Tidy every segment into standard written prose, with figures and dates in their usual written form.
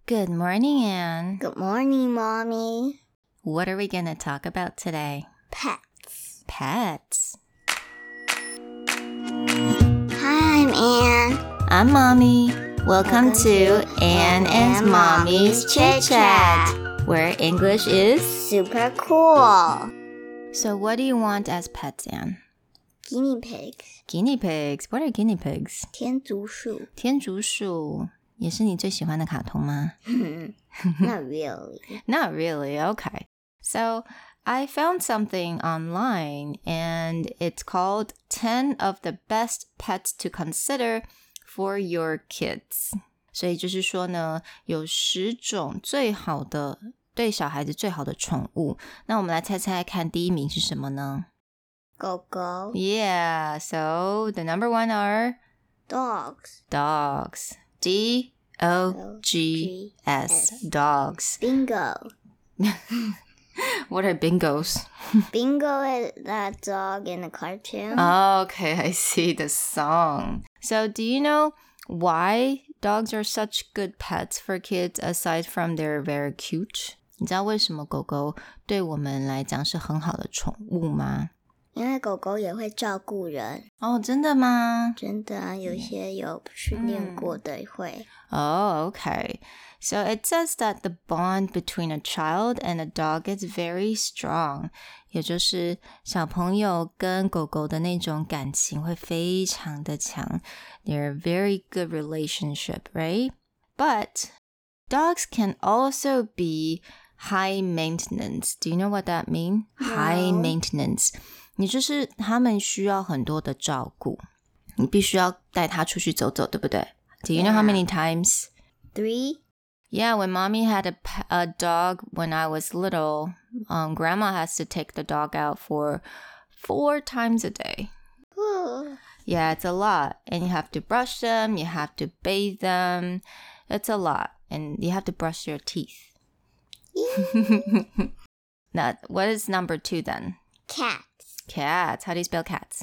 Good morning, Anne. Good morning, Mommy. What are we going to talk about today? Pets. Pets. Hi, I'm Anne. I'm Mommy. Welcome to Anne and Mommy's Chit Chat, where English is super cool. So what do you want as pets, Anne? Guinea pigs. Guinea pigs. What are guinea pigs? 天竺鼠。 天竺鼠也是你最喜欢的卡通吗？ Not really. Not really. Okay. So I found something online and it's called 10 of the best pets to consider for your kids. 所以就是说呢，有10种最好的对小孩子最好的宠物。那我们来猜猜看第一名是什么呢？ 狗狗。 Yeah, so the number one are Dogs. dogs. D-O-G-S. Dogs. Bingo. What are bingos? Bingo is that dog in the cartoon. Okay, I see the song. So do you know why dogs are such good pets for kids aside from they're very cute? 你知道为什么狗狗对我们来讲是很好的宠物吗？ 因为狗狗也会照顾人。 哦，真的吗？ 真的啊，有些有训练过的会。 Oh, okay. So it says that the bond between a child and a dog is very strong. 也就是小朋友跟狗狗的那种感情会非常的强。They're a very good relationship, right? But dogs can also be high maintenance. Do you know what that means? No. High maintenance. 你就是他们需要很多的照顾，你必须要带他出去走走，对不对？ Do you know how many times? 3. Yeah, when mommy had a dog when I was little, grandma has to take the dog out for 4 times a day. Yeah, it's a lot. And you have to brush them, you have to bathe them. It's a lot. And you have to brush your teeth. Now, what is number 2 then? Cats. Cats. How do you spell cats?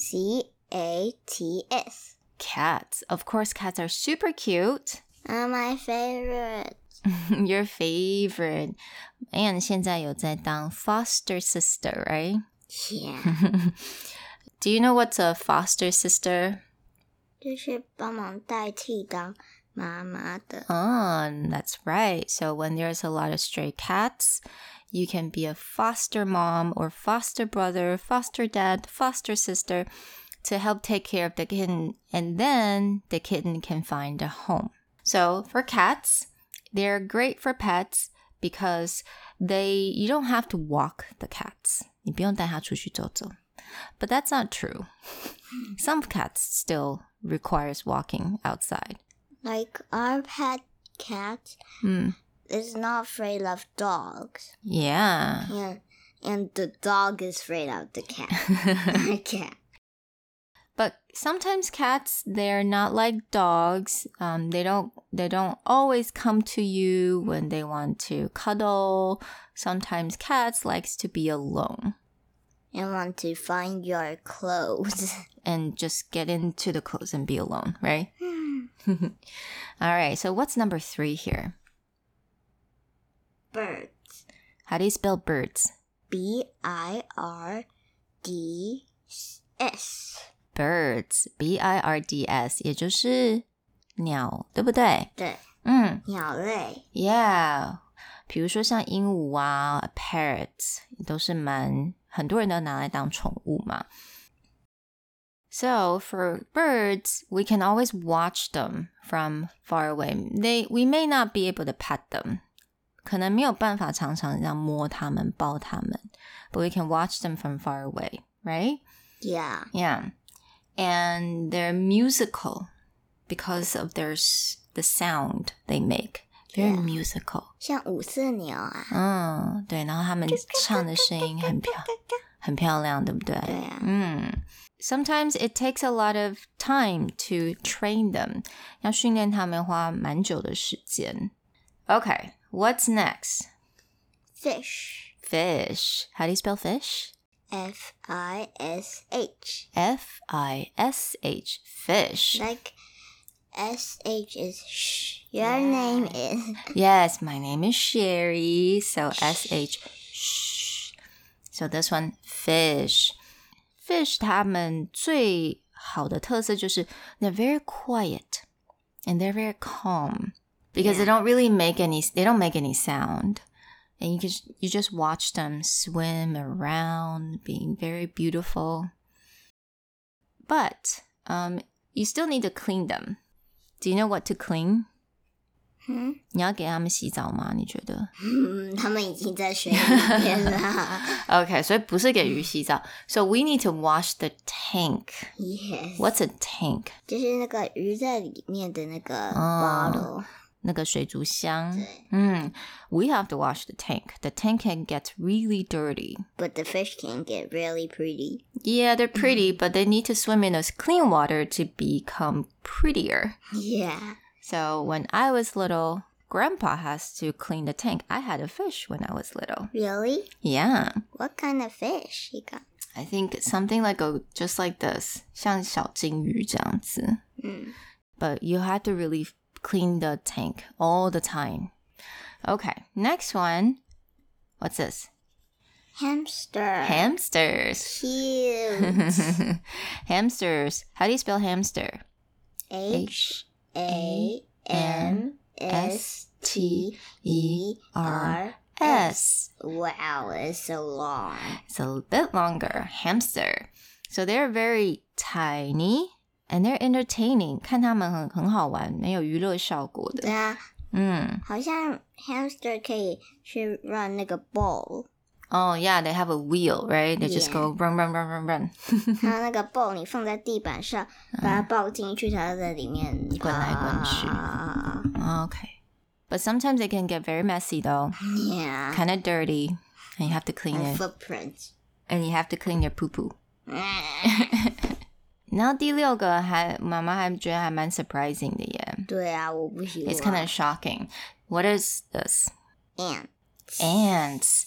C-A-T-S. Cats. Of course, cats are super cute. My favorite. Your favorite. And 现在有在当 foster sister, right? Yeah. Do you know what's a foster sister? 就是帮忙代替当妈妈的。 Oh, that's right. So when there's a lot of stray cats, you can be a foster mom or foster brother, foster dad, foster sister to help take care of the kitten, and then the kitten can find a home. So for cats, they're great for pets because you don't have to walk the cats. 你不用带它出去走走. But that's not true. Some cats still requires walking outside. Like our pet cat is not afraid of dogs. Yeah. And the dog is afraid of the cat. Cat. But sometimes cats, they're not like dogs. They don't always come to you when they want to cuddle. Sometimes cats likes to be alone. And want to find your clothes. And just get into the clothes and be alone, right? All right, so what's number 3 here? Birds. How do you spell birds? B-I-R-D-S. Birds, B-I-R-D-S, 也就是鸟，对不对？ 对，鸟类。 Yeah, 比如说像鹦鹉啊 parrots 都是很多人都拿来当宠物嘛。So for birds, we can always watch them from far away. We may not be able to pet them. 可能没有办法常常这样摸它们、抱它们 but we can watch them from far away, right? Yeah. Yeah. And they're musical because of the sound they make. Very musical. 像五色鸟啊。 对，然后他们唱的声音很漂亮，对不对？ 对啊。 Sometimes it takes a lot of time to train them. 要训练他们花蛮久的时间。Okay, what's next? Fish. Fish. How do you spell fish? F-I-S-H. F-I-S-H. Fish. Like SH is sh. Your name is. Yes, my name is Sherry. So SH, shh. So this one, fish. Fish 它们最好的特色就是 they're very quiet and they're very calm because they don't make any sound. And you just watch them swim around, being very beautiful. But you still need to clean them. Do you know what to clean? 你要给他们洗澡吗？你觉得？ 他们已经在水里面了。 Okay, 所以不是给鱼洗澡。So we need to wash the tank. Yes. What's a tank? 就是那个鱼在里面的那个 bottle. 那个水族箱。We have to wash the tank. The tank can get really dirty. But the fish can get really pretty. Yeah, they're pretty, but they need to swim in this clean water to become prettier. Yeah. So when I was little, Grandpa has to clean the tank. I had a fish when I was little. Really? Yeah. What kind of fish he got? I think something like just like this. 像小金鱼这样子。But you have to really clean the tank all the time. Okay, next one. What's this? Hamster. Hamsters. Cute. Hamsters. How do you spell hamster? HAMSTERS. Wow, it's so long. It's a bit longer. Hamster. So they're very tiny and they're entertaining. 看他们很好玩，没有娱乐效果的。 对啊，好像 hamster 可以去 run 那个 ball。 Oh, yeah, they have a wheel, right? They just go run, run, run, run, run. 它那个 ball 你放在地板上，把它抱进去，它在里面滚来滚去。Okay. But sometimes they can get very messy, though. Yeah. Kind of dirty. And you have to clean it. Footprints. And you have to clean their poo-poo. 然后第六个妈妈还觉得还蛮 surprising 的耶。 对啊，我不喜欢。 It's kind of shocking. What is this? Ants. Ants.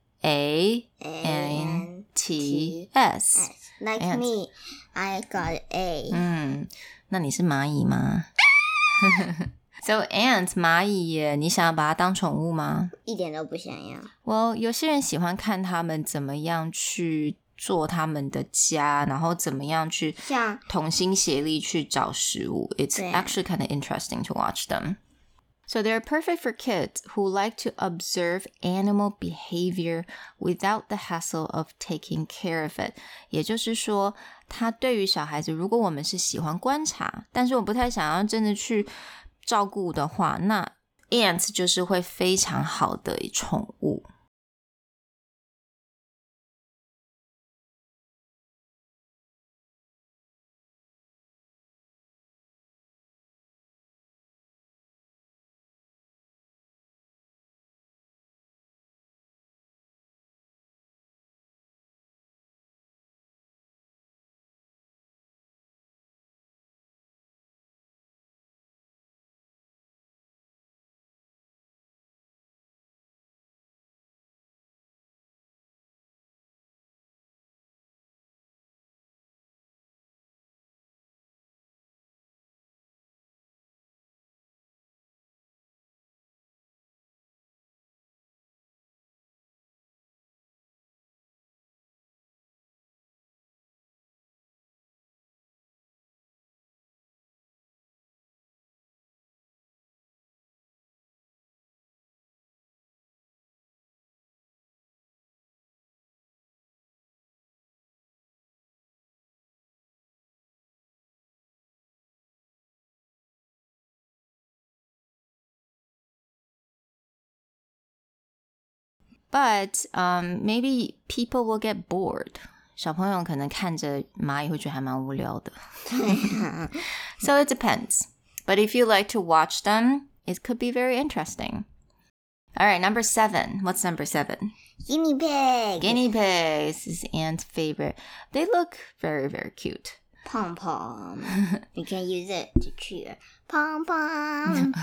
A-N-T-S. Like Ants. me, I got A. 那你是蚂蚁吗？So ants 蚂蚁耶，你想要把它当宠物吗？ 一点都不想要。 Well, 有些人喜欢看他们怎么样去做他们的家，然后怎么样去同心协力去找食物。It's actually kind of interesting to watch them. So they're perfect for kids who like to observe animal behavior without the hassle of taking care of it. 也就是说，它对于小孩子，如果我们是喜欢观察，但是我不太想要真的去照顾的话，那 ants 就是会非常好的宠物。But maybe people will get bored. 小朋友可能看着蚂蚁会觉得还蛮无聊的。So it depends. But if you like to watch them, it could be very interesting. All right, number 7. What's number 7? Guinea pig. Guinea pigs is Ant's favorite. They look very, very cute. Pom pom. You can use it to cheer. Pom pom.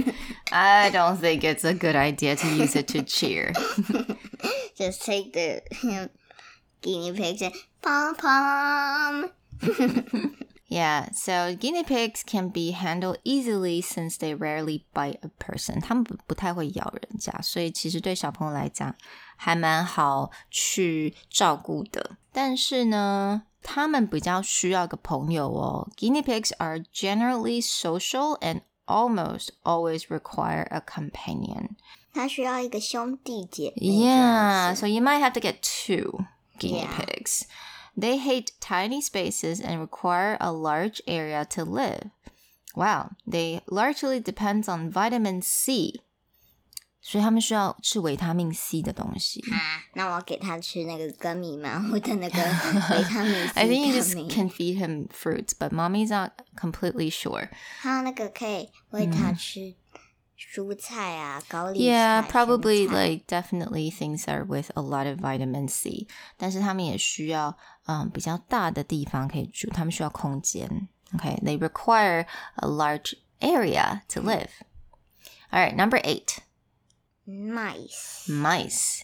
I don't think it's a good idea to use it to cheer. Just take the guinea pigs and pom pom. Yeah, so guinea pigs can be handled easily since they rarely bite a person. 他们不太会咬人家，所以其实对小朋友来讲还蛮好去照顾的。但是呢，他们比较需要个朋友哦。Guinea pigs are generally social and almost always require a companion. 他需要一个兄弟姐妹。 Yeah, so you might have to get 2 guinea Yeah. pigs. They hate tiny spaces and require a large area to live. Wow, they largely depend on vitamin C. 所以他们需要吃维他命 C 的东西。 那我要给他吃那个根米吗？或者那个维他命 C I think you just can feed him fruits, but mommy's not completely sure. 还有那个可以喂他吃蔬菜啊，高丽菜。 Yeah, probably like definitely things are with a lot of vitamin C. 但是他们也需要比较大的地方可以住，他们需要空间。Okay, they require a large area to live. All right, number 8. Mice. Mice.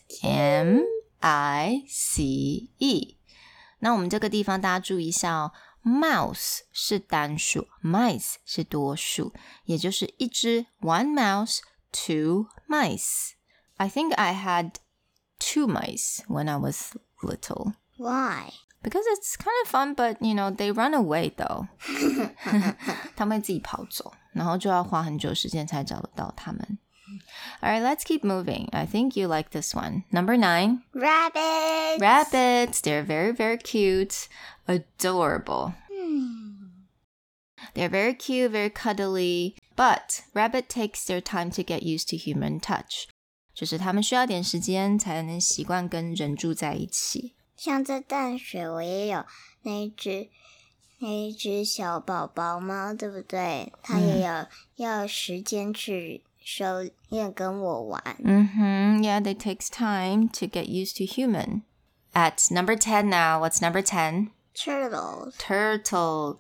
M-I-C-E. 那我们这个地方大家注意一下哦。Mouse 是单数 ，mice 是多数，也就是一只 one mouse, 2 mice. I think I had 2 mice when I was little. Why? Because it's kind of fun, but you know, they run away though. 他们会自己跑走，然后就要花很久时间才找得到他们。All right, let's keep moving. I think you like this one. Number 9. Rabbits. Rabbits. They're very, very cute. Adorable. They're very cute, very cuddly. But rabbit takes their time to get used to human touch. 就是他们需要点时间才能习惯跟人住在一起。 像在淡水我也有那一只小宝宝猫，对不对？它也要时间去熟练跟我玩。 Yeah, it takes time to get used to human. At number 10 now. What's number 10? Turtles. Turtle.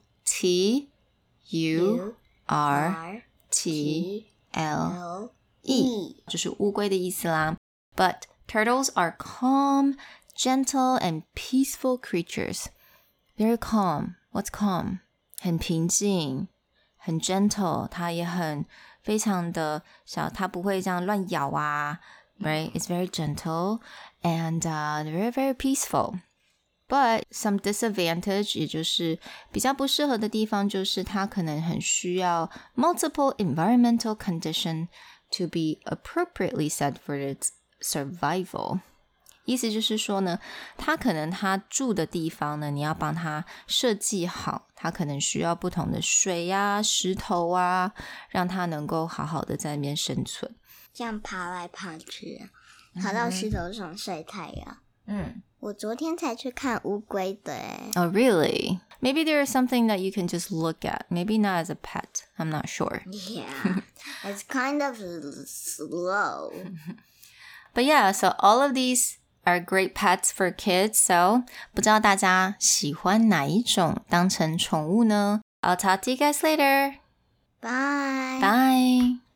T-U-R-T-L-E. 就是乌龟的意思啦。But turtles are calm, gentle, and peaceful creatures. Very calm. What's calm? 很平静，很 gentle. 它也很非常的小，它不会这样乱咬啊。Right? It's very gentle and very, very peaceful. But some disadvantage, 也就是比较不适合的地方，就是它可能很需要 multiple environmental condition to be appropriately set for its survival. 意思就是说呢，它可能它住的地方呢，你要帮它设计好，它可能需要不同的水啊、石头啊，让它能够好好的在那边生存。 这样爬来爬去，爬到石头上晒太阳。我昨天才去看乌龟的耶。 Oh, really? Maybe there is something that you can just look at. Maybe not as a pet. I'm not sure. Yeah, it's kind of slow. But yeah, so all of these are great pets for kids. So 不知道大家喜欢哪一种当成宠物呢？I'll talk to you guys later. Bye. Bye.